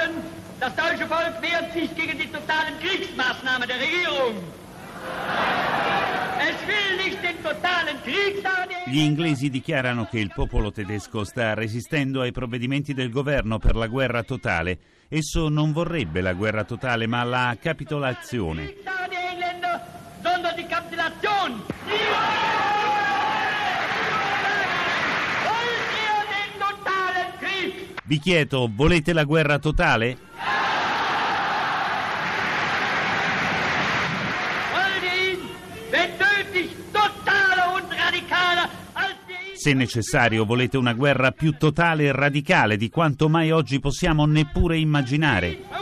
sagen, das deutsche Volk wehrt sich gegen die totalen Kriegsmaßnahmen der Regierung. Es will nicht den totalen Krieg. Gli inglesi dichiarano che il popolo tedesco sta resistendo ai provvedimenti del governo per la guerra totale. Esso non vorrebbe la guerra totale, ma la capitolazione. Vi chiedo, volete la guerra totale? Se necessario, volete una guerra più totale e radicale di quanto mai oggi possiamo neppure immaginare.